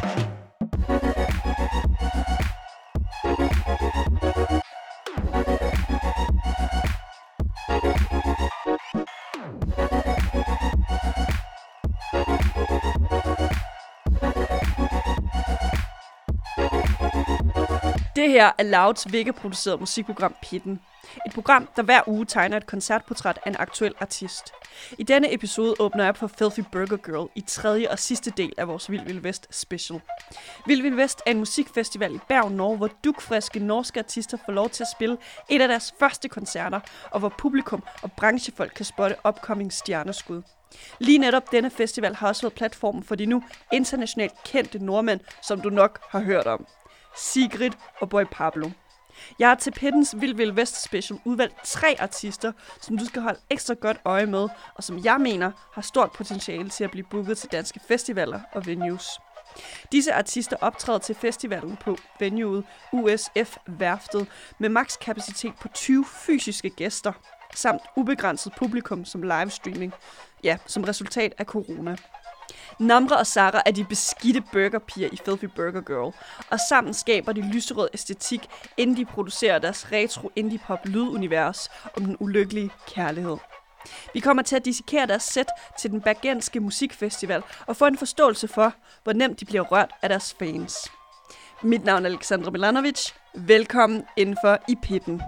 Det her er Louds Vega-produceret musikprogram Pitten. Et program, der hver uge tegner et koncertportræt af en aktuel artist. I denne episode åbner jeg op for Filthy Burger Girl i tredje og sidste del af vores Vild Vild Vest special. Vild Vild Vest er en musikfestival i Bergen, Norge, hvor dugfriske norske artister får lov til at spille et af deres første koncerter, og hvor publikum og branchefolk kan spotte upcoming stjerneskud. Lige netop denne festival har også været platformen for de nu internationalt kendte nordmænd, som du nok har hørt om. Sigrid og Boy Pablo. Jeg har til Pittens Vild Vild Vest Special udvalgt 3 artister, som du skal holde ekstra godt øje med, og som jeg mener har stort potentiale til at blive booket til danske festivaler og venues. Disse artister optræder til festivalen på venuet USF Værftet med maks kapacitet på 20 fysiske gæster, samt ubegrænset publikum som livestreaming, som resultat af corona. Namra og Sara er de beskidte burgerpiger i Filthy Burger Girl, og sammen skaber de lyserød æstetik, inden de producerer deres retro indie-pop lydunivers om den ulykkelige kærlighed. Vi kommer til at dissekere deres sæt til den bergenske musikfestival og få en forståelse for, hvor nemt de bliver rørt af deres fans. Mit navn er Alexandra Milanovic. Velkommen indenfor i Pitten.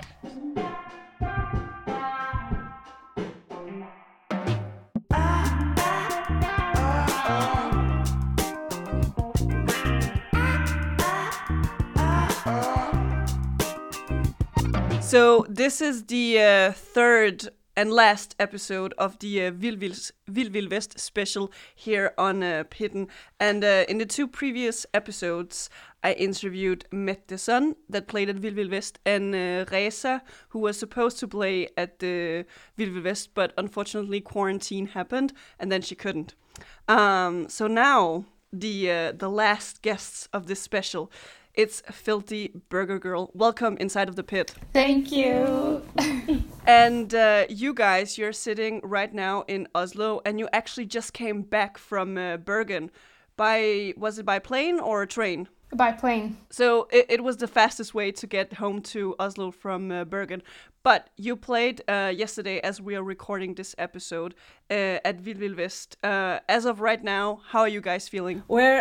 So this is the third and last episode of the Vild Vild Vest special here on Pitten. And in the 2 previous episodes, I interviewed Mette Son, that played at Vild Vild Vest, and Reza, who was supposed to play at the Vild Vild Vest, but unfortunately quarantine happened, and then she couldn't. So now, the last guests of this special, it's Filthy Burger Girl. Welcome inside of the pit. Thank you. And you guys, you're sitting right now in Oslo, and you actually just came back from Bergen. Was it by plane or train? By plane. So it was the fastest way to get home to Oslo from Bergen. But you played yesterday, as we are recording this episode, at Vild Vild Vest. As of right now, how are you guys feeling? We're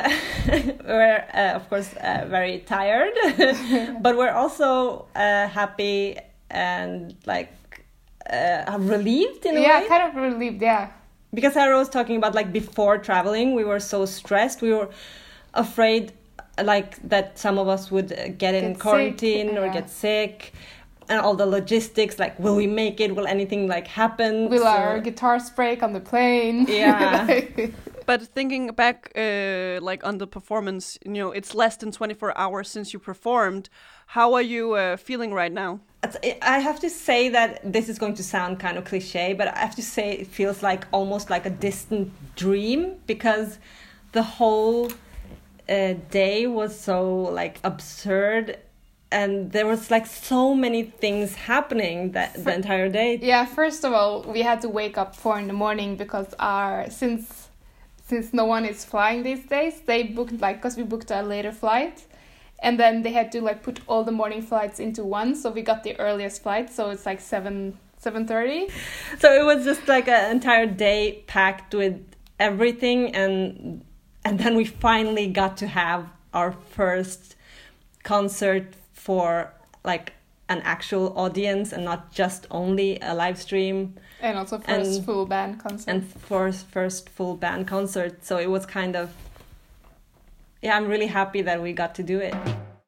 of course very tired, but we're also happy and relieved in a way. Yeah, kind of relieved, yeah. Because Sarah was talking about before traveling, we were so stressed. We were afraid that some of us would get in quarantine sick, or get sick. And all the logistics, will we make it? Will anything happen? Will our guitars break on the plane? Yeah. But thinking back, on the performance, it's less than 24 hours since you performed. How are you feeling right now? I have to say that this is going to sound kind of cliche, but I have to say it feels almost like a distant dream, because the whole day was so absurd. And there was so many things happening the entire day. Yeah, first of all, we had to wake up 4 a.m. because since no one is flying these days, they booked because we booked a later flight, and then they had to put all the morning flights into one. So we got the earliest flight, so it's 7:30. So it was just an entire day packed with everything, and then we finally got to have our first concert for an actual audience and not just only a live stream. And also first full band concert. And first full band concert. So it was kind of... Yeah, I'm really happy that we got to do it.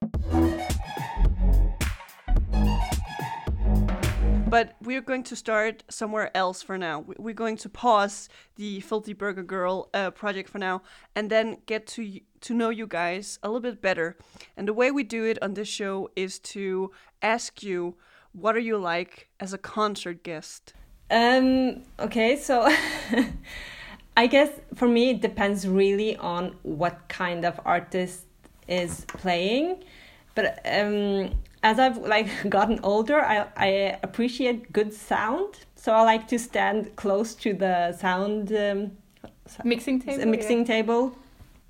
But we're going to start somewhere else for now. We're going to pause the Filthy Burger Girl project for now, and then get to know you guys a little bit better. And the way we do it on this show is to ask you, what are you like as a concert guest? Okay, so I guess for me it depends really on what kind of artist is playing. But as I've gotten older, I appreciate good sound. So I like to stand close to the sound mixing table. Table.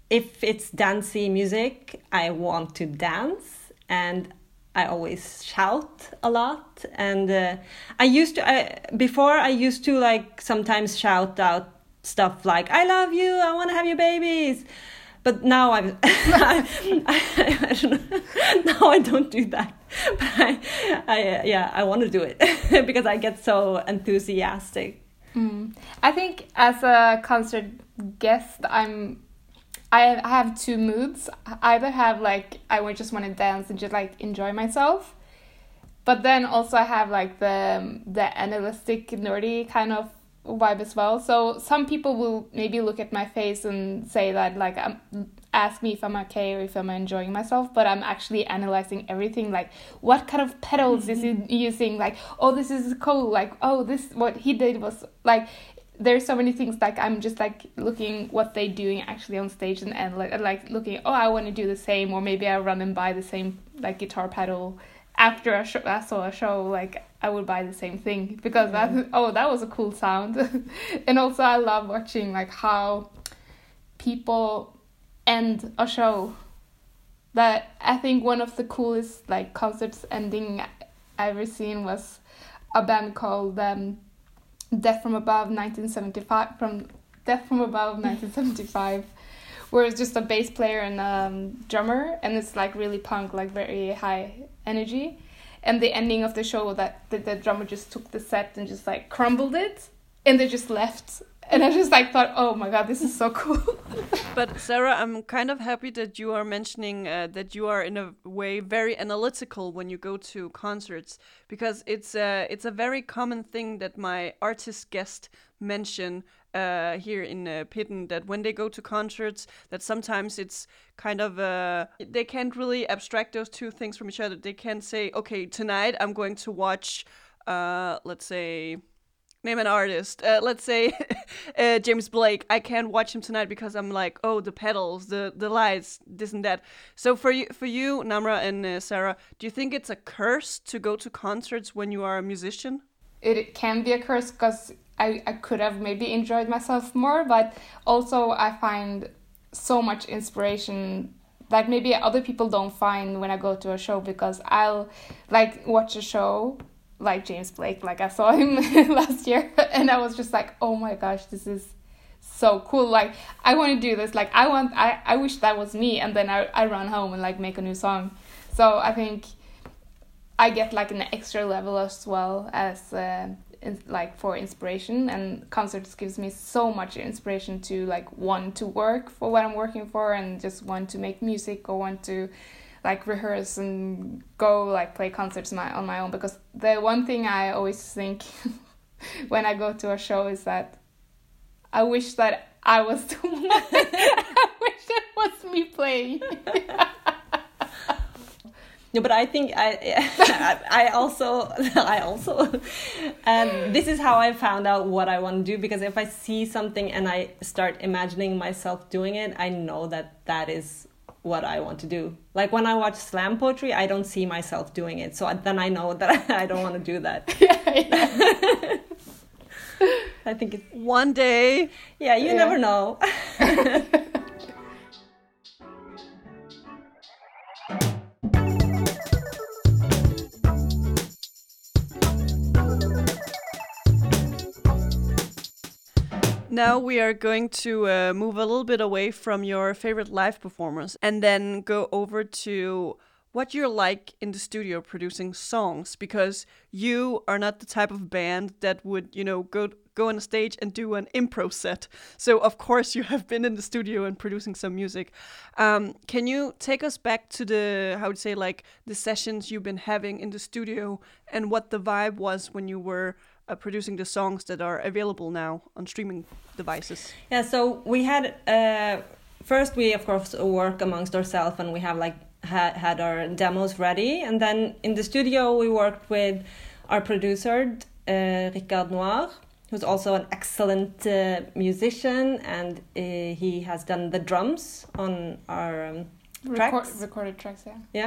if it's dancey music, I want to dance, and I always shout a lot. And before I used to like sometimes shout out stuff like "I love you, I want to have your babies," but now I don't know. Now I don't do that. But I want to do it because I get so enthusiastic. I think as a concert guest, I have two moods. I either have like I just want to dance and just like enjoy myself, but then also I have like the analytic nerdy kind of vibe as well. So some people will maybe look at my face and say that like ask me if I'm okay or if I'm enjoying myself, but I'm actually analyzing everything, like what kind of pedals is he using, like oh this is cool, like oh this what he did was like, there's so many things, like I'm just like looking what they're doing actually on stage and like looking, oh I want to do the same, or maybe I run and buy the same like guitar pedal after I saw a show, like I would buy the same thing because that was a cool sound. And also I love watching like how people end a show. That I think one of the coolest like concerts ending I ever seen was a band called Death from Above 1975, where it's just a bass player and drummer, and it's like really punk, like very high energy. And the ending of the show, that the drummer just took the set and just like crumbled it, and they just left. And I just like thought, oh my god, this is so cool. But Sarah, I'm kind of happy that you are mentioning that you are in a way very analytical when you go to concerts, because it's a very common thing that my artist guest mention here in Pitten, that when they go to concerts, that sometimes it's kind of they can't really abstract those two things from each other. They can't say, okay, tonight I'm going to watch, let's say, name an artist. Let's say James Blake. I can't watch him tonight because I'm like, oh, the pedals, the lights, this and that. So for you, Namra and Sarah, do you think it's a curse to go to concerts when you are a musician? It can be a curse because I could have maybe enjoyed myself more, but also I find so much inspiration that maybe other people don't find when I go to a show, because I'll like watch a show like James Blake, like I saw him last year, and I was just like, oh my gosh, this is so cool, like I want to do this, like I wish that was me, and then I run home and like make a new song. So I think I get like an extra level as well as like for inspiration, and concerts gives me so much inspiration to like want to work for what I'm working for, and just want to make music or want to like rehearse and go like play concerts on my own. Because the one thing I always think when I go to a show is that I wish that I was the one. I wish it was me playing. No, but I think I also this is how I found out what I want to do, because if I see something and I start imagining myself doing it, I know that is what I want to do. Like when I watch slam poetry, I don't see myself doing it, so then I know that I don't want to do that. Yeah. I think it's one day. Yeah, you never know. Now we are going to move a little bit away from your favorite live performers and then go over to what you're like in the studio producing songs, because you are not the type of band that would, go on a stage and do an improv set. So of course you have been in the studio and producing some music. Can you take us back to the sessions you've been having in the studio and what the vibe was when you were producing the songs that are available now on streaming devices? Yeah, so we had first we of course work amongst ourselves, and we have like had our demos ready, and then in the studio we worked with our producer Ricard Noir, who's also an excellent musician, and he has done the drums on our tracks. Recorded tracks, yeah. Yeah.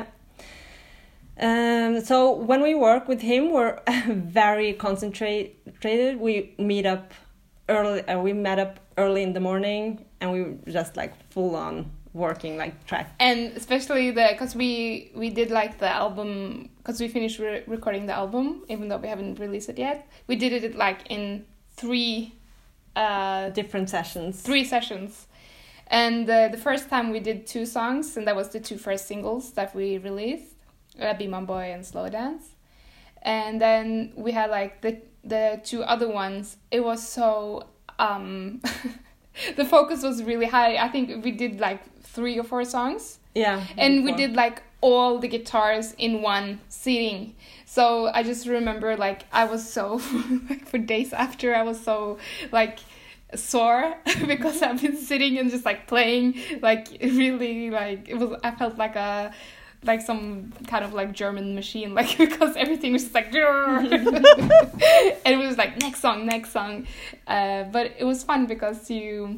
So when we work with him, we're very concentrated. We meet up early. We met up early in the morning, and we were just like full on working like track. And especially because we did like the album, because we finished recording the album, even though we haven't released it yet. We did it like in three different sessions. 3 sessions. And the first time we did 2 songs, and that was the 2 first singles that we released, Be My Boy and Slow Dance. And then we had like the 2 other ones. It was so the focus was really high. I think we did like 3 or 4 songs. Yeah. And we did like all the guitars in one sitting. So I just remember like I was so like for days after I was so like sore because I've been sitting and just like playing like really like it was, I felt like some kind of like German machine, like because everything was just like and it was like next song, but it was fun because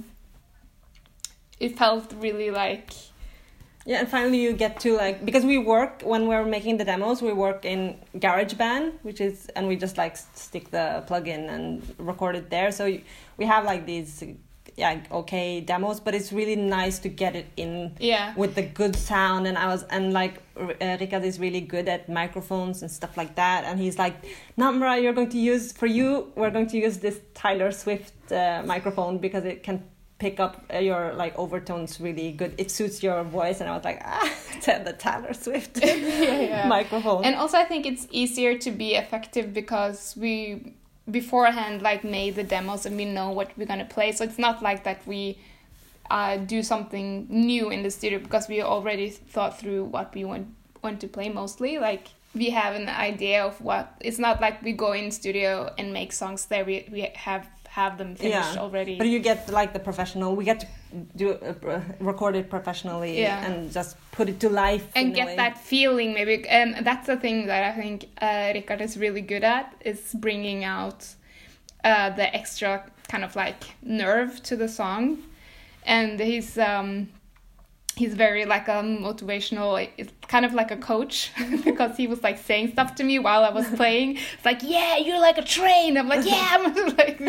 it felt really like. Yeah, and finally you get to like, because we work, when we're making the demos, we work in GarageBand, and we just like stick the plugin and record it there. So we have like these, okay demos, but it's really nice to get it in with the good sound. And Rikard is really good at microphones and stuff like that. And he's like, Namra, we're going to use this Taylor Swift microphone because it can pick up your like overtones really good. It suits your voice. And I was like, the Taylor Swift microphone. And also I think it's easier to be effective because we beforehand like made the demos and we know what we're gonna play. So it's not like that we do something new in the studio because we already thought through what we want to play mostly. Like we have an idea of what. It's not like we go in studio and make songs there. We have them finished already. But you get like the professional. We get to do record it professionally and just put it to life and get that feeling maybe. And that's the thing that I think Rikard is really good at, is bringing out the extra kind of like nerve to the song. And he's very like a motivational, it's kind of like a coach because he was like saying stuff to me while I was playing. It's like, yeah, you're like a train. I'm like, yeah, I'm like,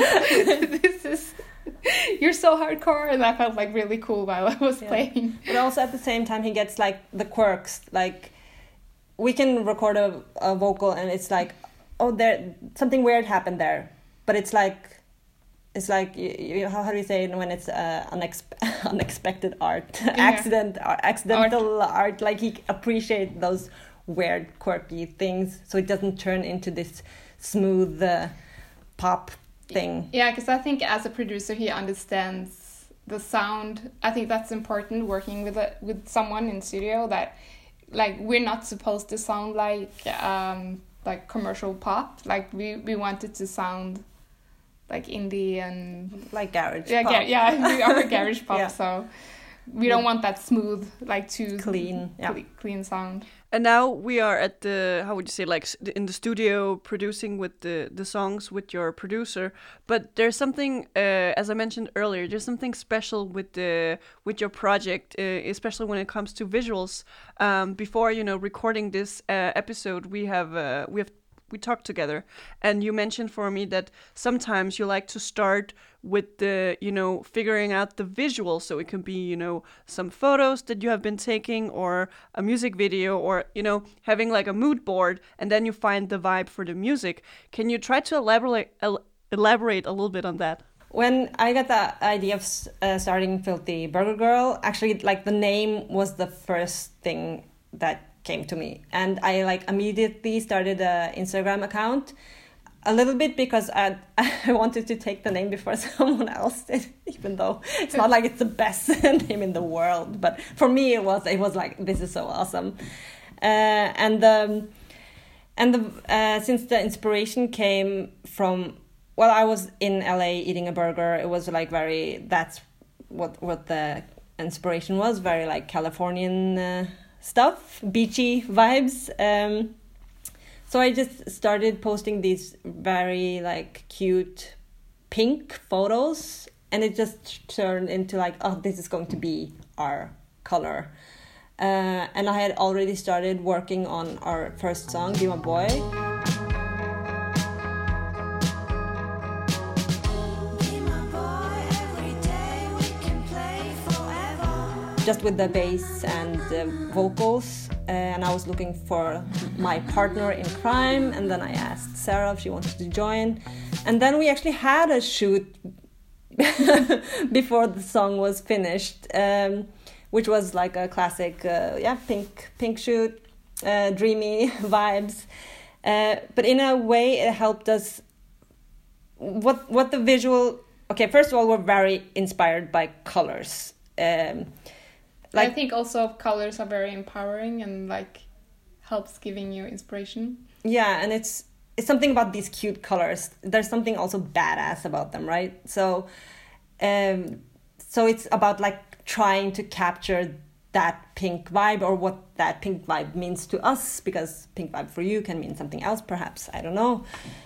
you're so hardcore. And I felt like really cool while I was playing. But also at the same time, he gets like the quirks. Like we can record a vocal and it's like, oh, there something weird happened there. But it's like, how do you say it when it's unexpected art, accidental art? Like he appreciates those weird, quirky things, so it doesn't turn into this smooth pop thing. Yeah, because I think as a producer, he understands the sound. I think that's important working with someone in studio that, like, we're not supposed to sound like commercial pop. Like we want it to sound like indie and like garage pop. We are garage pop, so we don't want that smooth, like too clean sound. And now we are at the, how would you say, like in the studio producing with the songs with your producer. But there's something, as I mentioned earlier, there's something special with your project, especially when it comes to visuals. Before recording this episode, we talked together, and you mentioned for me that sometimes you like to start with the, figuring out the visual. So it can be, some photos that you have been taking or a music video or, having like a mood board, and then you find the vibe for the music. Can you try to elaborate a little bit on that? When I got the idea of starting Filthy Burger Girl, actually, like the name was the first thing that came to me, and I like immediately started an Instagram account, a little bit because I wanted to take the name before someone else did, even though it's not like it's the best name in the world, but for me it was like, this is so awesome. And since the inspiration came from, well, I was in LA eating a burger, it was like that's what the inspiration was, very like Californian stuff, beachy vibes. So I just started posting these very like cute pink photos, and it just turned into like, oh, this is going to be our color. And I had already started working on our first song, Be My Boy. Be my boy every day. just with the bass and the vocals. And I was looking for my partner in crime, and then I asked Sarah if she wanted to join. And then we actually had a shoot before the song was finished, which was like a classic, pink shoot, dreamy vibes. But in a way, it helped us. What the visual? Okay, first of all, we're very inspired by colors. I think also colors are very empowering and like helps giving you inspiration. Yeah, and it's something about these cute colors. There's something also badass about them, right? So it's about like trying to capture that pink vibe, or what that pink vibe means to us, because pink vibe for you can mean something else, perhaps. I don't know.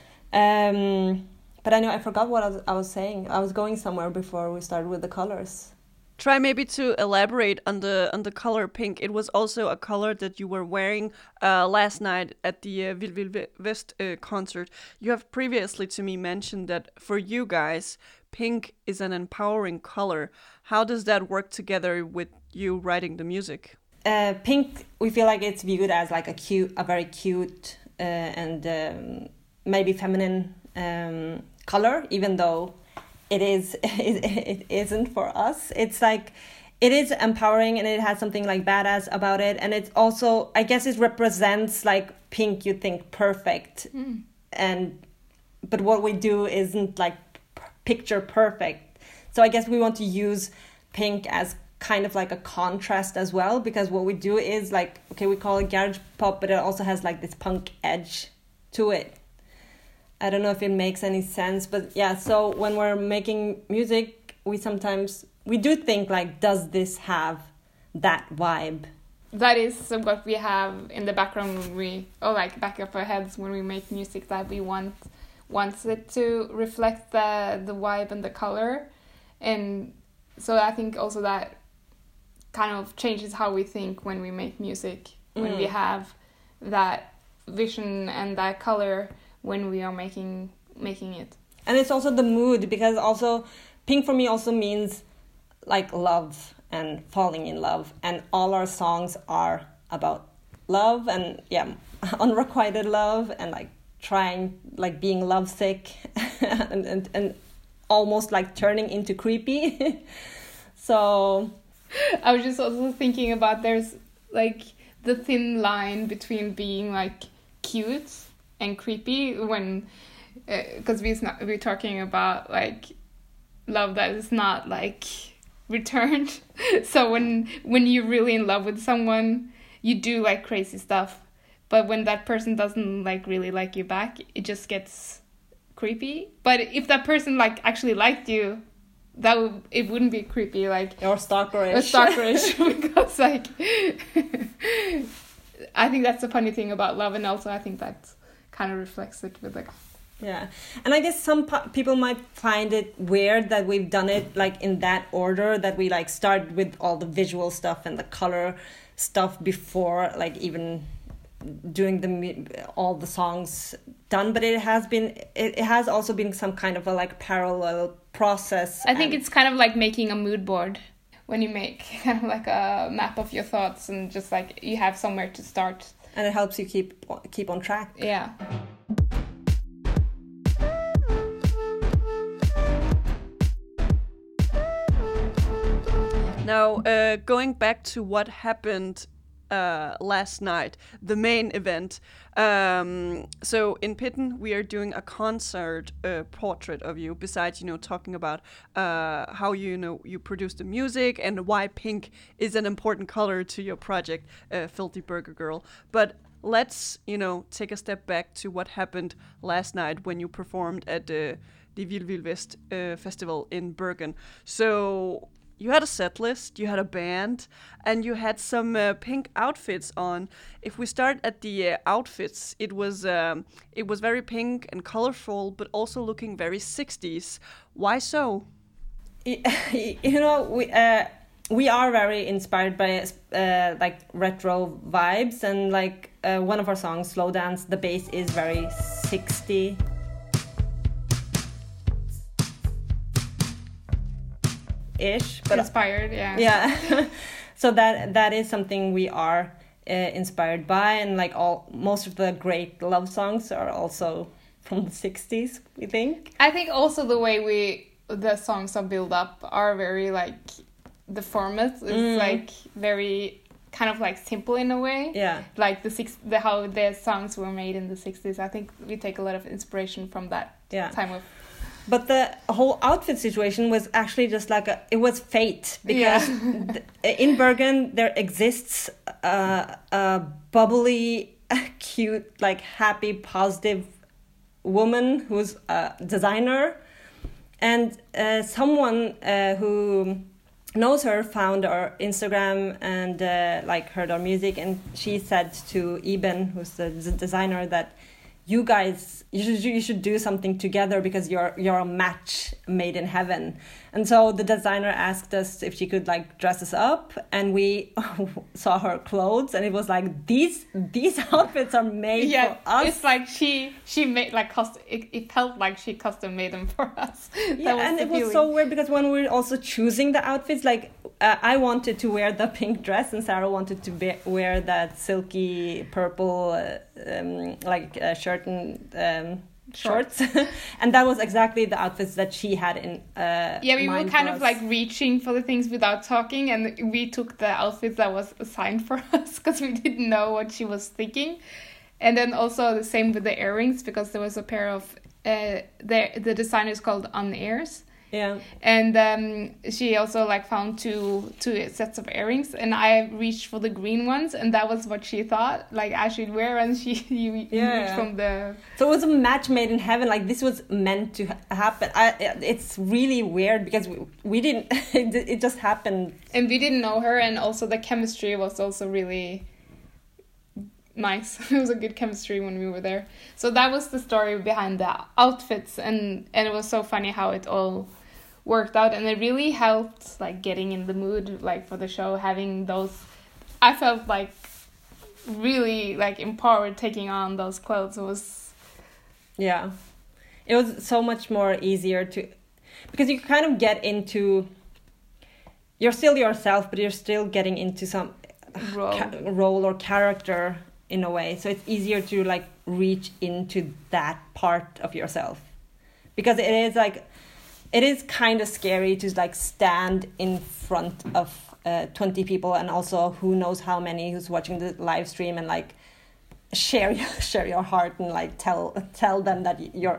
But I know I forgot what I was saying. I was going somewhere before we started with the colors. Try maybe to elaborate on the color pink. It was also a color that you were wearing last night at the Vild Vild Vest concert. You have previously to me mentioned that for you guys, pink is an empowering color. How does that work together with you writing the music? Pink, we feel like it's viewed as like a very cute and maybe feminine color, even though it isn't for us. It's like, it is empowering and it has something like badass about it. And it's also, I guess it represents like pink, you think perfect. But what we do isn't like picture perfect. So I guess we want to use pink as kind of like a contrast as well, because what we do is like, okay, we call it garage pop, but it also has like this punk edge to it. I don't know if it makes any sense, but yeah, so when we're making music, we do think like, does this have that vibe? That is what we have in the background when back of our heads when we make music, that we want it to reflect the vibe and the color. And so I think also that kind of changes how we think when we make music, when we have that vision and that color when we are making it. And it's also the mood, because also pink for me also means like love and falling in love, and all our songs are about love and unrequited love and like trying, like being lovesick and almost like turning into creepy. So I was just also thinking about, there's like the thin line between being like cute and creepy, when because we're talking about like love that is not like returned. So when you're really in love with someone, you do like crazy stuff, but when that person doesn't like really like you back, it just gets creepy. But if that person like actually liked you, it wouldn't be creepy, like, or stalkerish. Because like I think that's the funny thing about love, and also I think that kind of reflects it with like. Yeah, and I guess some people might find it weird that we've done it like in that order, that we like start with all the visual stuff and the color stuff before like even doing all the songs done. But it has also been some kind of a like parallel process. I think it's kind of like making a mood board, when you make kind of like a map of your thoughts, and just like you have somewhere to start, and it helps you keep on track. Yeah. Now, going back to what happened last night, the main event. So in Pitten, we are doing a concert portrait of you, besides, talking about how, you produce the music and why pink is an important color to your project, Filthy Burger Girl. But let's, take a step back to what happened last night when you performed at the Vild Vild Vest festival in Bergen. So you had a set list, you had a band, and you had some pink outfits on. If we start at the outfits, it was very pink and colorful, but also looking very 60s. Why so? We are very inspired by like retro vibes, and like one of our songs, Slow Dance, the bass is very 60. ish, but inspired. yeah. So that is something we are inspired by, and like most of the great love songs are also from the 60s, we think. I think also the way the songs are built up are very like, the format is like very kind of like simple in a way. Yeah. Like how the songs were made in the 60s. I think we take a lot of inspiration from that time of. But the whole outfit situation was actually just like it was fate, because in Bergen there exists a bubbly, cute, like happy, positive woman who's a designer, and someone who knows her found our Instagram and like heard our music, and she said to Eben, who's the designer, that you guys, you should do something together because you're a match made in heaven. And so the designer asked us if she could like dress us up, and we saw her clothes, and it was like these outfits are made for us. It's like she made like it felt like she custom made them for us. It was so weird because when we were also choosing the outfits, like I wanted to wear the pink dress, and Sarah wanted to wear that silky purple shirt and shorts. And that was exactly the outfits that she had in we were kind of like reaching for the things without talking, and we took the outfits that was assigned for us because we didn't know what she was thinking. And then also the same with the earrings, because there was a pair of the designer is called On Airs. Yeah. And she also like found two sets of earrings, and I reached for the green ones, and that was what she thought like I should wear, and you reached from the. So it was a match made in heaven. Like this was meant to happen. It's really weird because we didn't. It just happened. And we didn't know her, and also the chemistry was also really nice. It was a good chemistry when we were there. So that was the story behind the outfits, and it was so funny how it all worked out, and it really helped like getting in the mood like for the show, having those. I felt like really like empowered taking on those clothes. It was it was so much more easier to, because you kind of get into, you're still yourself, but you're still getting into some role or character in a way, so it's easier to like reach into that part of yourself, because it is kind of scary to like stand in front of 20 people, and also who knows how many who's watching the live stream, and like share your heart and like tell them that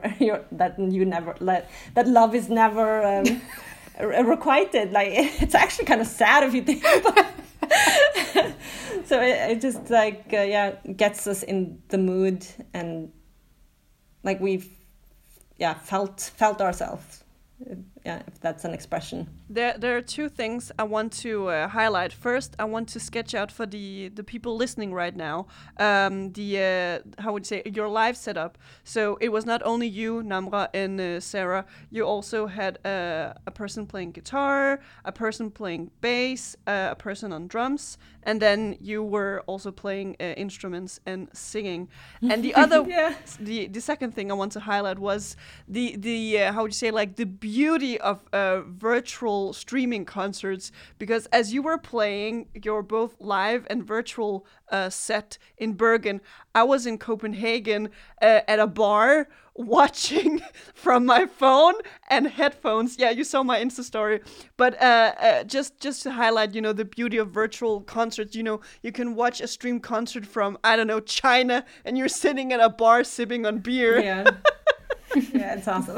that love is never requited. Like it's actually kind of sad if you think about it. So it just like gets us in the mood, and like we've felt ourselves, if that's an expression. There are two things I want to highlight. First, I want to sketch out for the people listening right now how would you say, your live setup. So it was not only you, Namra, and Sarah. You also had a person playing guitar, a person playing bass, a person on drums, and then you were also playing instruments and singing. And the other, the second thing I want to highlight was the how would you say, like the beauty of virtual streaming concerts, because as you were playing your both live and virtual set in Bergen, I was in Copenhagen at a bar watching from my phone and headphones. Yeah, you saw my Insta story. But just to highlight, the beauty of virtual concerts. You can watch a stream concert from, I don't know, China, and you're sitting at a bar sipping on beer. Yeah. Yeah, it's awesome.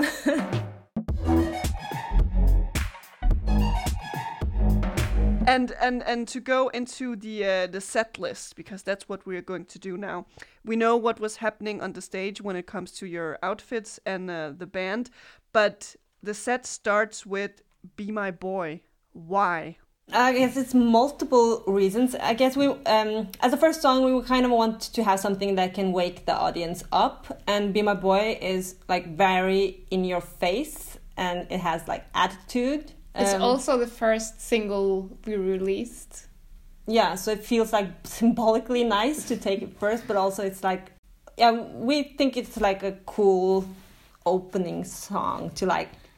And to go into the set list, because that's what we're going to do now. We know what was happening on the stage when it comes to your outfits and the band, but the set starts with "Be My Boy." Why? I guess it's multiple reasons. I guess we, as a first song, we kind of want to have something that can wake the audience up, and "Be My Boy" is like very in your face, and it has like attitude. It's also the first single we released. Yeah, so it feels like symbolically nice to take it first, but also it's like, we think it's like a cool opening song to like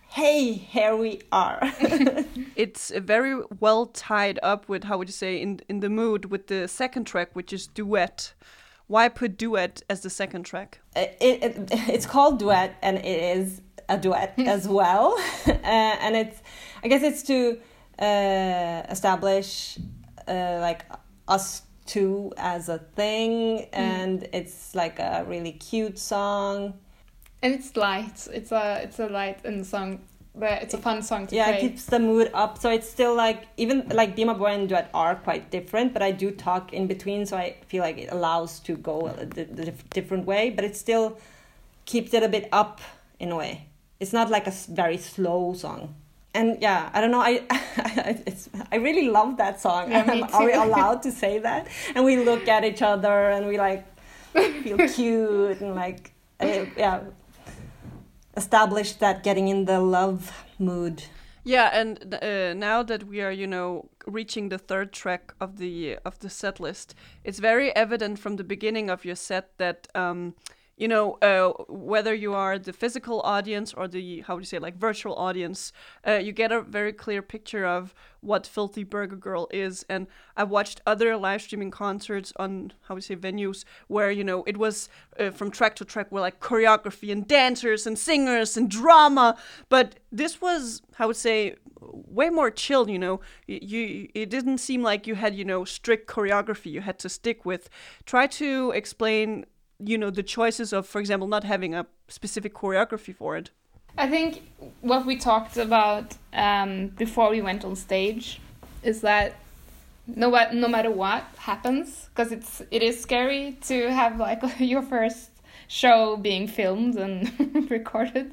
hey, here we are. It's very well tied up with, how would you say, in the mood with the second track, which is Duet. Why put Duet as the second track? It's called Duet, and it is a duet as well. And I guess it's to establish like us two as a thing, and it's like a really cute song. And it's light. It's a light and song. But it's a fun song to play. Yeah, it keeps the mood up. So it's still like, even like Be My Boy and Duet are quite different, but I do talk in between, so I feel like it allows to go a different way, but it still keeps it a bit up in a way. It's not like a very slow song. And yeah, I don't know, I really love that song. Yeah, me too. Are we allowed to say that? And we look at each other and we like feel cute and like, yeah, establish that getting in the love mood. Yeah, and now that we are, reaching the third track of the set list, it's very evident from the beginning of your set that whether you are the physical audience or the, how would you say, like virtual audience, you get a very clear picture of what Filthy Burger Girl is. And I watched other live streaming concerts on, how would you say, venues where, it was from track to track where like choreography and dancers and singers and drama. But this was, I would say, way more chill, it didn't seem like you had, strict choreography you had to stick with. Try to explain the choices of, for example, not having a specific choreography for it. I think what we talked about before we went on stage is that no matter what happens, because it is scary to have like your first show being filmed and recorded.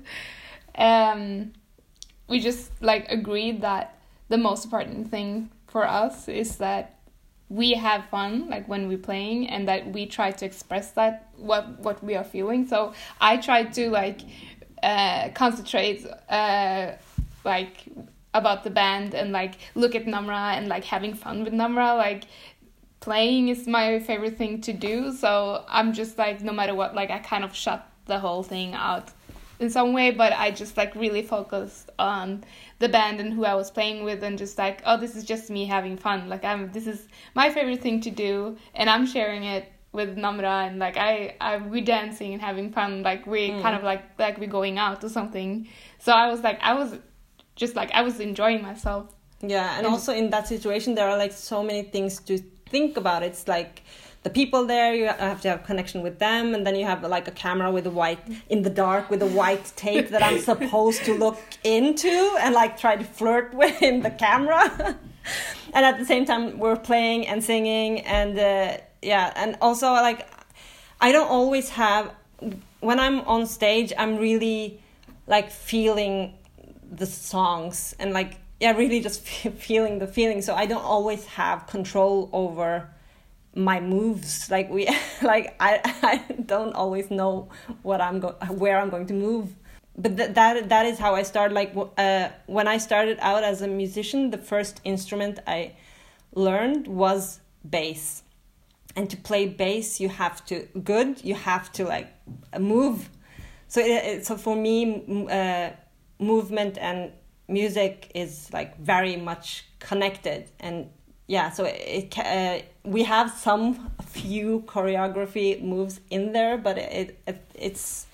We just like agreed that the most important thing for us is that we have fun like when we're playing, and that we try to express that what we are feeling. So I try to like concentrate like about the band and like look at Namra and like having fun with Namra. Like playing is my favorite thing to do, so I'm just like, no matter what, like I kind of shut the whole thing out in some way, but I just like really focused on the band and who I was playing with, and just like, oh, this is just me having fun. Like this is my favorite thing to do, and I'm sharing it with Namra, and like we dancing and having fun. Like we kind of like we're going out or something. So I was enjoying myself. Yeah, and also in that situation, there are like so many things to think about. It's like the people there, you have to have connection with them, and then you have like a camera with in the dark with a white tape that I'm supposed to look into and like try to flirt with in the camera. And at the same time we're playing and singing, and and also like I don't always have, when I'm on stage, I'm really like feeling the songs and like really just feeling the feeling, so I don't always have control over my moves. Like I don't always know where I'm going to move. But that is how I started. Like when I started out as a musician, the first instrument I learned was bass. And to play bass, you have to like move. So for me, movement and music is like very much connected. And yeah, so we have some few choreography moves in there, but it's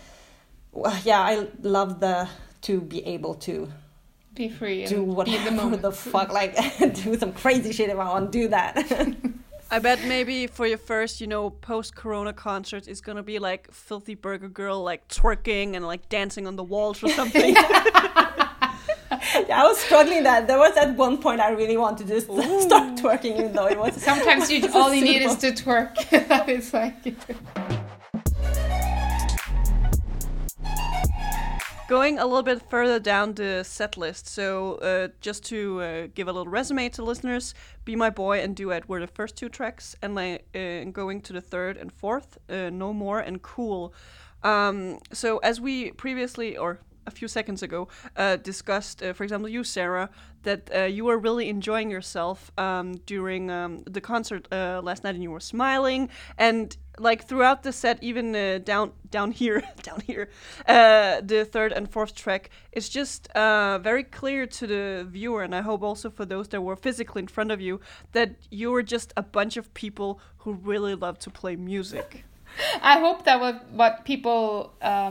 I love to be able to be free and do whatever the fuck, like do some crazy shit if I want to do that. I bet maybe for your first, post-corona concert, it's gonna be like Filthy Burger Girl, like twerking and like dancing on the walls or something. Yeah, I was struggling that. There was at one point I really wanted to just start twerking, even though it was... Sometimes all you need is to twerk. It's like... Going a little bit further down the set list, so just to give a little resume to listeners, Be My Boy and Duet were the first two tracks, and going to the third and fourth, No More and Cool. So as we previously, or a few seconds ago discussed, for example, you, Sarah, that you were really enjoying yourself during the concert last night, and you were smiling, and like throughout the set, even down here, the third and fourth track, it's just very clear to the viewer, and I hope also for those that were physically in front of you, that you were just a bunch of people who really love to play music. I hope that was what people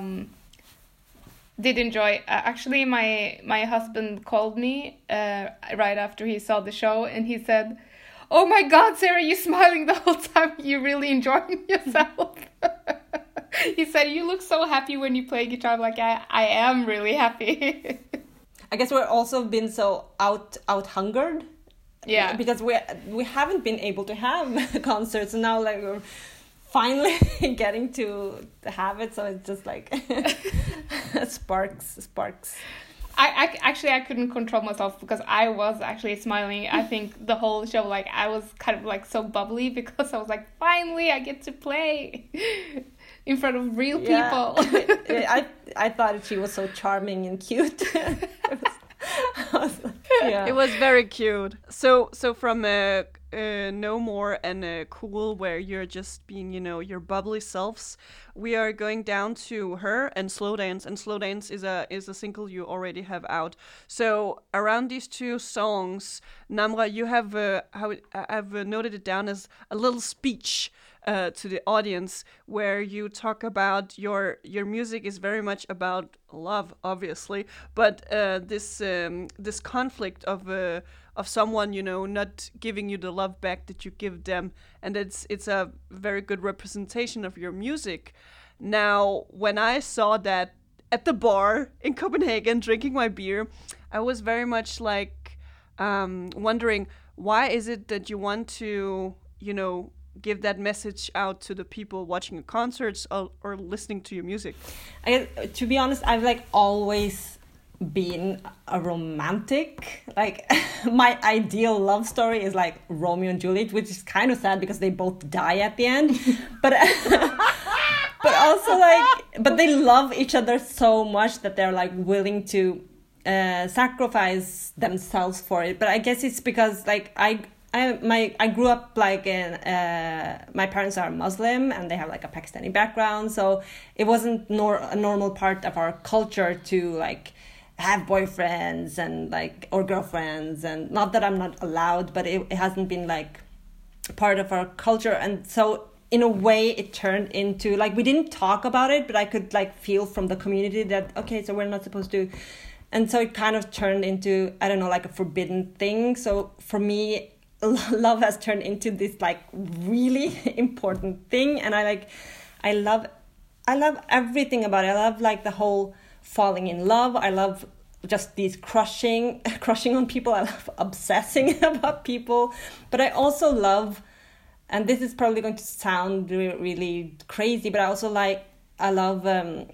did enjoy. Actually, my husband called me right after he saw the show, and he said, "Oh my God, Sarah, you're smiling the whole time. You're really enjoying yourself." He said, "You look so happy when you play guitar." I'm like, I am really happy. I guess we're also been so out-hungered. Yeah. Because we haven't been able to have concerts, and now like we're finally getting to have it, so it's just like sparks. I couldn't control myself because I was actually smiling. I think the whole show, like, I was kind of like so bubbly because I was like, finally I get to play in front of real people. I thought she was so charming and cute. It was very cute. So from No More and Cool, where you're just being, your bubbly selves, we are going down to Her and Slow Dance, and Slow Dance is a single you already have out. So around these two songs, Namra, you have I've noted it down as a little speech to the audience, where you talk about your music is very much about love, obviously, but this conflict of someone not giving you the love back that you give them, and it's a very good representation of your music. Now, when I saw that at the bar in Copenhagen drinking my beer, I was very much like wondering, why is it that you want to give that message out to the people watching your concerts or listening to your music? To be honest, I've like always been a romantic. Like my ideal love story is like Romeo and Juliet, which is kind of sad because they both die at the end. But also but they love each other so much that they're like willing to sacrifice themselves for it. But I guess it's because like I grew up like in my parents are Muslim and they have like a Pakistani background, so it wasn't a normal part of our culture to like have boyfriends and like or girlfriends, and not that I'm not allowed, but it hasn't been like part of our culture. And so in a way it turned into like, we didn't talk about it, but I could like feel from the community that okay, so we're not supposed to. And so it kind of turned into, I don't know, like a forbidden thing. So for me, love has turned into this like really important thing, and I love everything about it. I love like the whole falling in love. I love just these crushing on people. I love obsessing about people, but I also love, and this is probably going to sound really, really crazy, but I love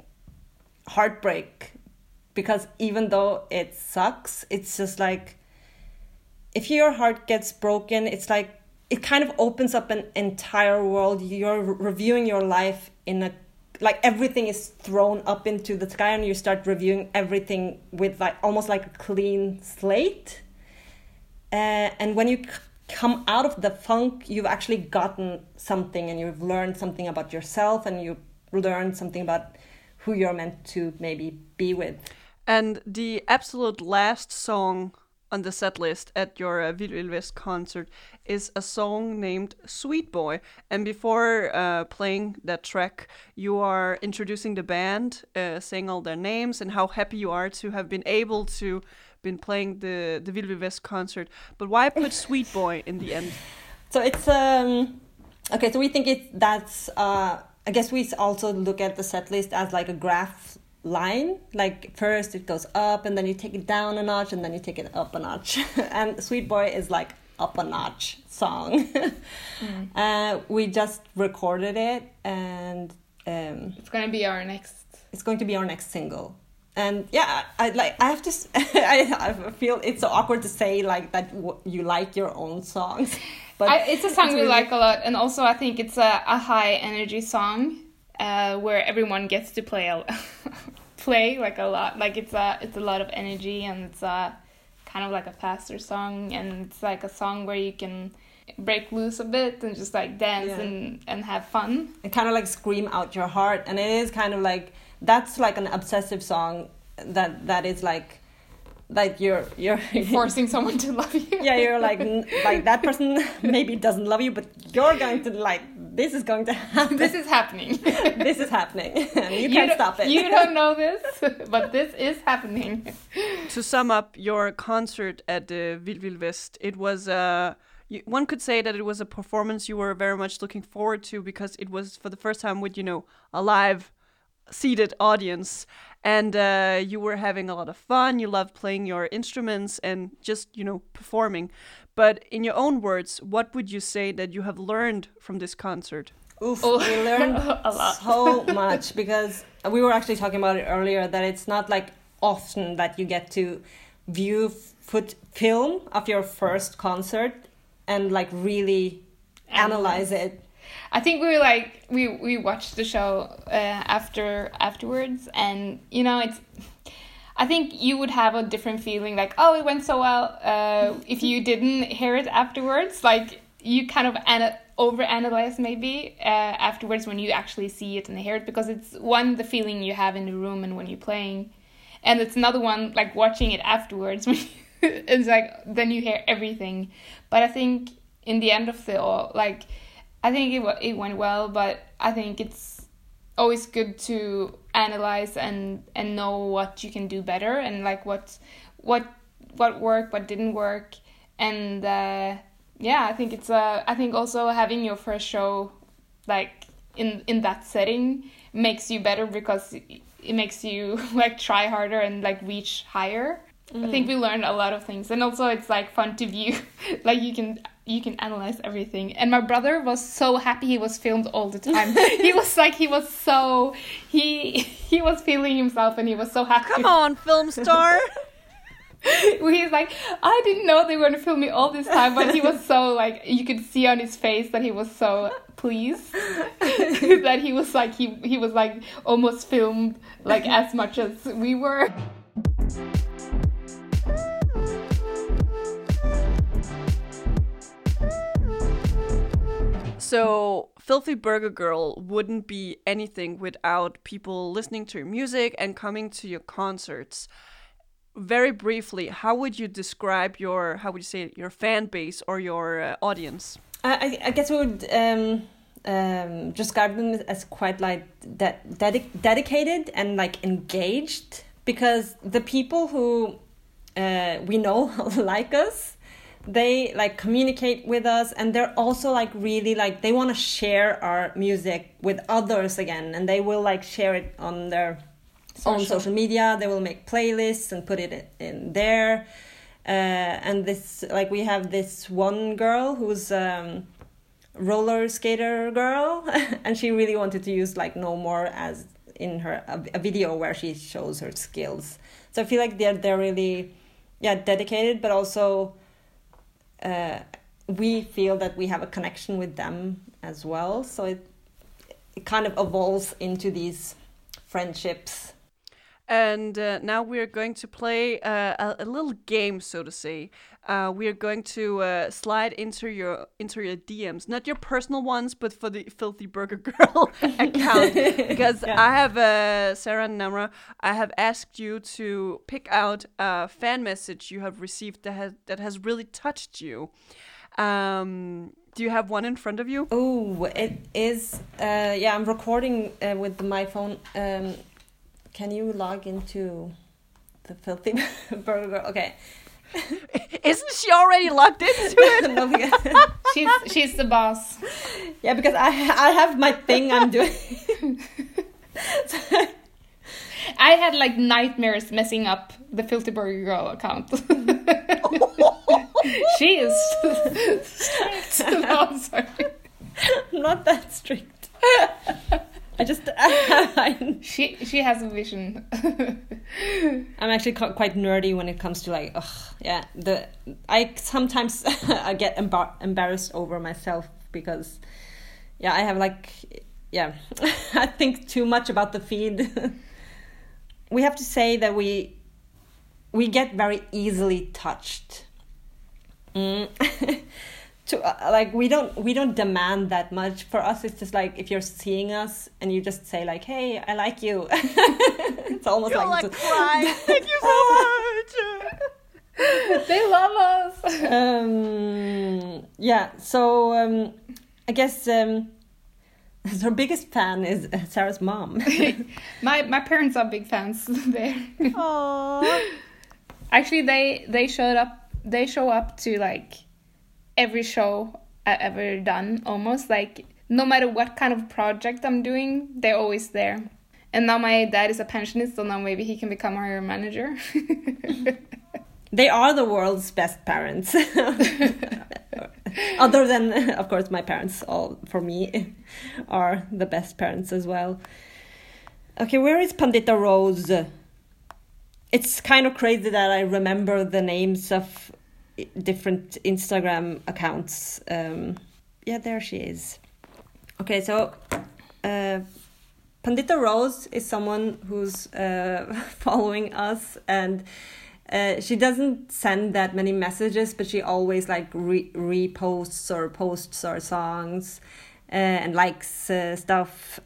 heartbreak, because even though it sucks, it's just like, if your heart gets broken, it's like it kind of opens up an entire world. You're reviewing your life like everything is thrown up into the sky, and you start reviewing everything with like almost like a clean slate. And when you come out of the funk, you've actually gotten something, and you've learned something about yourself, and you've learned something about who you're meant to maybe be with. And the absolute last song on the set list at your Vild Vild Vest concert is a song named Sweet Boy. And before playing that track, you are introducing the band, saying all their names and how happy you are to have been able to been playing the Vild Vild Vest concert. But why put Sweet Boy in the end? So it's okay. So we think that's I guess we also look at the set list as like a graph line. Like first it goes up, and then you take it down a notch, and then you take it up a notch. And Sweet Boy is like up a notch song. We just recorded it, and it's going to be our next single. And yeah, I have to I feel it's so awkward to say like that you like your own songs, but it's a song we like a lot. And also I think it's a high energy song where everyone gets to play play like a lot. Like it's a lot of energy, and it's kind of like a faster song, and it's like a song where you can break loose a bit and just like dance and have fun. And kind of like scream out your heart, and it is kind of like that's like an obsessive song that is like you're forcing someone to love you. Yeah, you're like that person maybe doesn't love you, but you're going to like, this is going to happen. This is happening. This is happening. And you can't stop it. You don't know this, but this is happening. To sum up your concert at the Vild Vild Vest, it was one could say that it was a performance you were very much looking forward to, because it was for the first time with, a live seated audience, and you were having a lot of fun. You loved playing your instruments and just, performing. But in your own words, what would you say that you have learned from this concert? Oof, we learned a lot. So much, because we were actually talking about it earlier, that it's not like often that you get to view film of your first concert and like really analyze it. I think we were like we watched the show afterwards, and it's. I think you would have a different feeling, like, oh, it went so well. If you didn't hear it afterwards, like you kind of overanalyze maybe afterwards when you actually see it and hear it, because it's one, the feeling you have in the room and when you're playing, and it's another one like watching it afterwards when it's like then you hear everything. But I think in the end of the all, like, I think it went well, but I think it's always good to analyze and know what you can do better, and like what worked, what didn't work, and I think it's I think also having your first show like in that setting makes you better, because it makes you like try harder and like reach higher. I think we learned a lot of things, and also it's like fun to view. Like you can analyze everything. And my brother was so happy he was filmed all the time. He was feeling himself, and he was so happy. Come on, film star. He's like, I didn't know they were going to film me all this time, but he was so like, you could see on his face that he was so pleased that he was like he was like almost filmed like as much as we were. So, Filthy Burger Girl wouldn't be anything without people listening to your music and coming to your concerts. Very briefly, how would you describe your fan base or your audience? I guess we would describe them as quite like dedicated and like engaged, because the people who we know like us, they like communicate with us, and they're also like really like they want to share our music with others again, and they will like share it on their own social media. They will make playlists and put it in there, and this, like, we have this one girl who's roller skater girl and she really wanted to use like No More as in her a video where she shows her skills. So I feel like they're really dedicated, but also we feel that we have a connection with them as well, so it kind of evolves into these friendships. And now we're going to play a little game, so to say. We are going to slide into your DMs, not your personal ones, but for the Filthy Burger Girl account, because I have Sarah and Namra. I have asked you to pick out a fan message you have received that has really touched you. Do you have one in front of you? Oh, it is. I'm recording with my phone. Can you log into the Filthy Burger Girl? Okay. Isn't she already logged into it? No, because she's the boss. Yeah, because I have my thing I'm doing. I had like nightmares messing up the Filthy Burger Girl account. She is strict. No, I'm sorry. I'm not that strict. I just she has a vision. I'm actually quite nerdy when it comes to like I sometimes I get embarrassed over myself, because I have I think too much about the feed. we have to say that we get very easily touched. Like we don't demand that much. For us, it's just like if you're seeing us and you just say like, "Hey, I like you." It's almost You're like crying. Thank you so much. They love us. Yeah. So I guess her biggest fan is Sarah's mom. My parents are big fans there. Aww. Actually, they show up to like every show I've ever done, almost. Like no matter what kind of project I'm doing, they're always there. And now my dad is a pensionist, so now maybe he can become our manager. They are the world's best parents. Other than, of course, my parents, all for me, are the best parents as well. Okay, where is Pandita Rose? It's kind of crazy that I remember the names of different Instagram accounts. Yeah, there she is. Okay, so Pandita Rose is someone who's following us, and she doesn't send that many messages, but she always like reposts or posts our songs and likes stuff.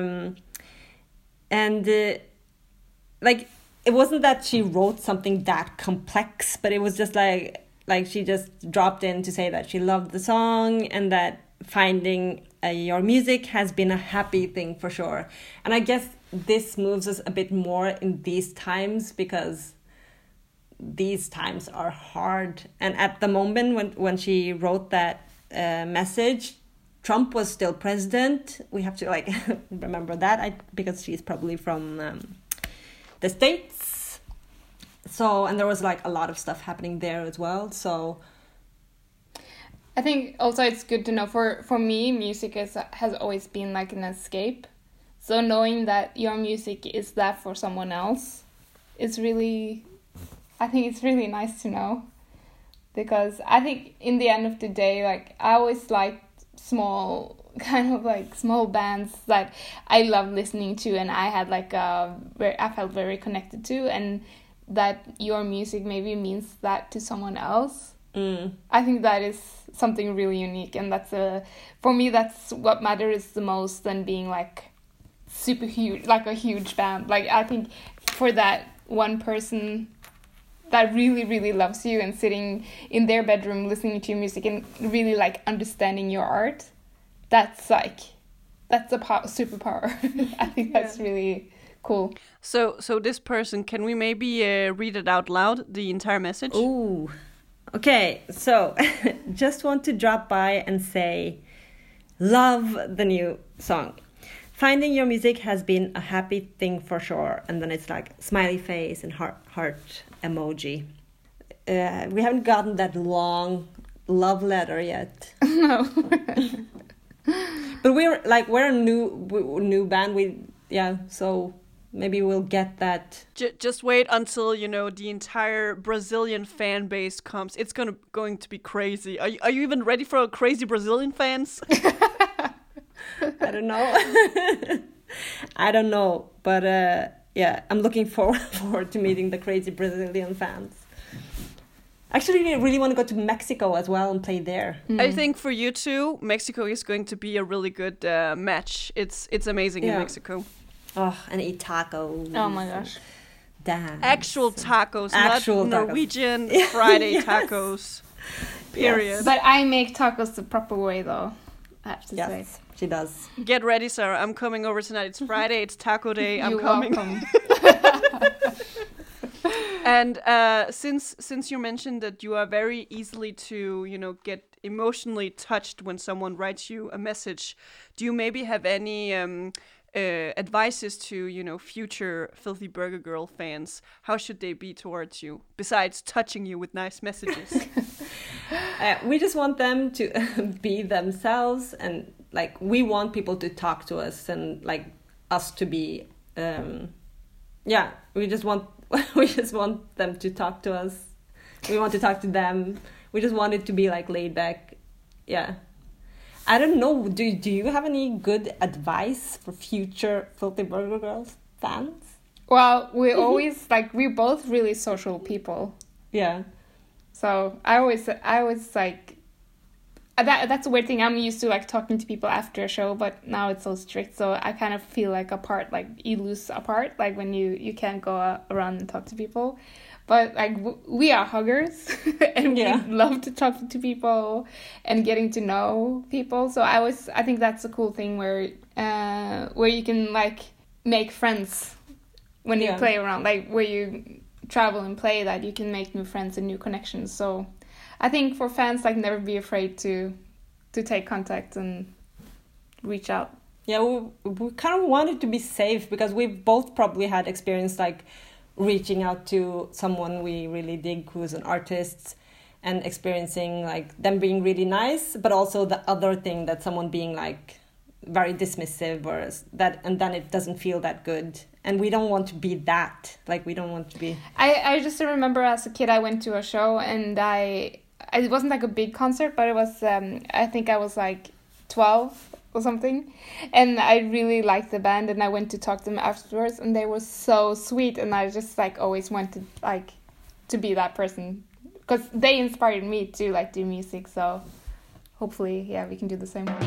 Like it wasn't that she wrote something that complex, but it was just like she just dropped in to say that she loved the song and that finding your music has been a happy thing for sure. And I guess this moves us a bit more in these times because these times are hard. And at the moment when she wrote that message, Trump was still president. We have to like remember that because she's probably from the States. So, and there was like a lot of stuff happening there as well. So I think also it's good to know for me, music has always been like an escape. So knowing that your music is that for someone else is really, I think it's really nice to know. Because I think in the end of the day, like I always liked small bands that I love listening to, and I had like I felt very connected to, and that your music maybe means that to someone else. I think that is something really unique, and for me that's what matters the most than being like super huge, like a huge band. Like I think for that one person that really, really loves you and sitting in their bedroom listening to your music and really like understanding your art, that's a superpower. I think that's really cool. So this person, can we maybe read it out loud, the entire message? Ooh. Okay, so just want to drop by and say, love the new song. Finding your music has been a happy thing for sure. And then it's like smiley face and heart emoji. We haven't gotten that long love letter yet. No. But we're a new band. So maybe we'll get that. Just wait until the entire Brazilian fan base comes. It's going to be crazy. Are you even ready for a crazy Brazilian fans? I don't know. But I'm looking forward to meeting the crazy Brazilian fans. Actually, I really want to go to Mexico as well and play there. I think for you too, Mexico is going to be a really good match. It's amazing in Mexico. Oh, and eat tacos. Oh my gosh. Dance. Actual tacos, not tacos. Norwegian Friday tacos. Period. Yes. But I make tacos the proper way though, I have to say. She does. Get ready, Sarah. I'm coming over tonight. It's Friday. It's taco day. I'm You're coming. welcome. And since you mentioned that you are very easily to get emotionally touched when someone writes you a message, do you maybe have any advices to future Filthy Burger Girl fans? How should they be towards you besides touching you with nice messages? We just want them to be themselves, and like we want people to talk to us and like us to be we just want them to talk to us. We want to talk to them. We just want it to be like laid back. I don't know, do you have any good advice for future Filthy Burger Girls fans? Well, we always like we're both really social people. Yeah. So I always like that's a weird thing. I'm used to like talking to people after a show, but now it's so strict. So I kind of feel like apart, like you lose apart, like when you can't go around and talk to people. But like we are huggers, and we love to talk to people and getting to know people. So I think that's a cool thing where you can like make friends when you play around, like where you travel and play, that you can make new friends and new connections. So I think for fans, like never be afraid to take contact and reach out. Yeah, we kind of wanted to be safe because we've both probably had experience like reaching out to someone we really dig who's an artist and experiencing like them being really nice, but also the other thing that someone being like very dismissive or that, and then it doesn't feel that good. And we don't want to be that. Like we don't want to be. I just remember as a kid I went to a show and it wasn't like a big concert, but it was I think I was like 12 or something, and I really liked the band, and I went to talk to them afterwards, and they were so sweet, and I just like always wanted like to be that person because they inspired me to like do music. So hopefully, we can do the same.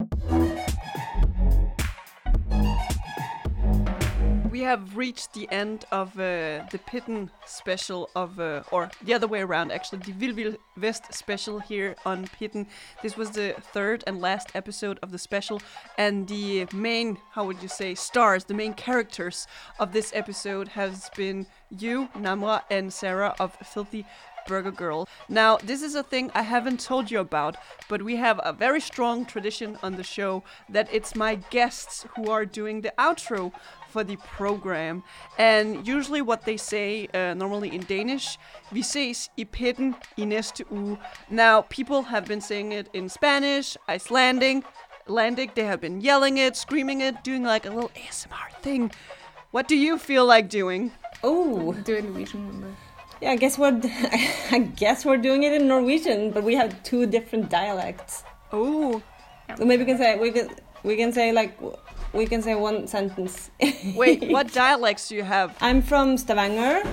We have reached the end of the Pitten special of, or the other way around actually, the Vild Vild Vest special here on Pitten. This was the third and last episode of the special, and the main, how would you say, stars, the main characters of this episode has been you, Namra, and Sarah of Filthy Burger Girl. Now, this is a thing I haven't told you about, but we have a very strong tradition on the show that it's my guests who are doing the outro for the program. And usually what they say, normally in Danish, vi ses I Pitten I næste uge. Now, people have been saying it in Spanish, Icelandic, they have been yelling it, screaming it, doing like a little ASMR thing. What do you feel like doing? Oh, doing Norwegian. Yeah, I guess we're doing it in Norwegian, but we have two different dialects. Oh, so maybe we can say one sentence. Wait, what dialects do you have? I'm from Stavanger,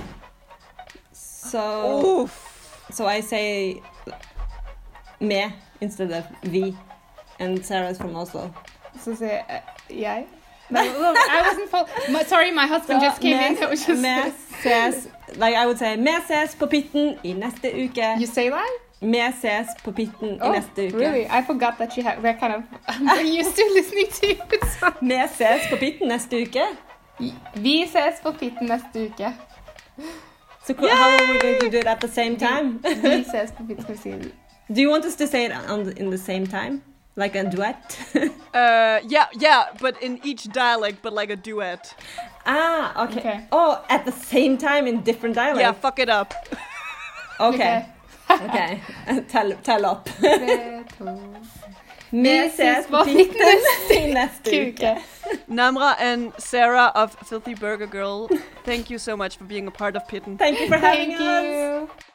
so I say me instead of vi, and Sarah's from Oslo. So say jeg. No, look, I wasn't sorry, my husband just came in. It was just me ses, like I would say me ses på Pitten I neste uke. You say that? Me ses på Pitten I neste uke. Really? I forgot that you have that kind of. I'm used to listening to you. So. Me ses på Pitten neste uke. Vi ses på Pitten neste uke. So how are we going to do it at the same time? Vi ses på Pitten. Do you want us to say it in the same time? Like a duet? Yeah, but in each dialect, but like a duet. Ah, okay. Oh, at the same time in different dialects? Yeah, fuck it up. Okay. Okay. Tell up. Vi ses på Pitten I neste uke. Namra and Sarah of Filthy Burger Girl, thank you so much for being a part of Pitten. Thank you for having us. Thank you.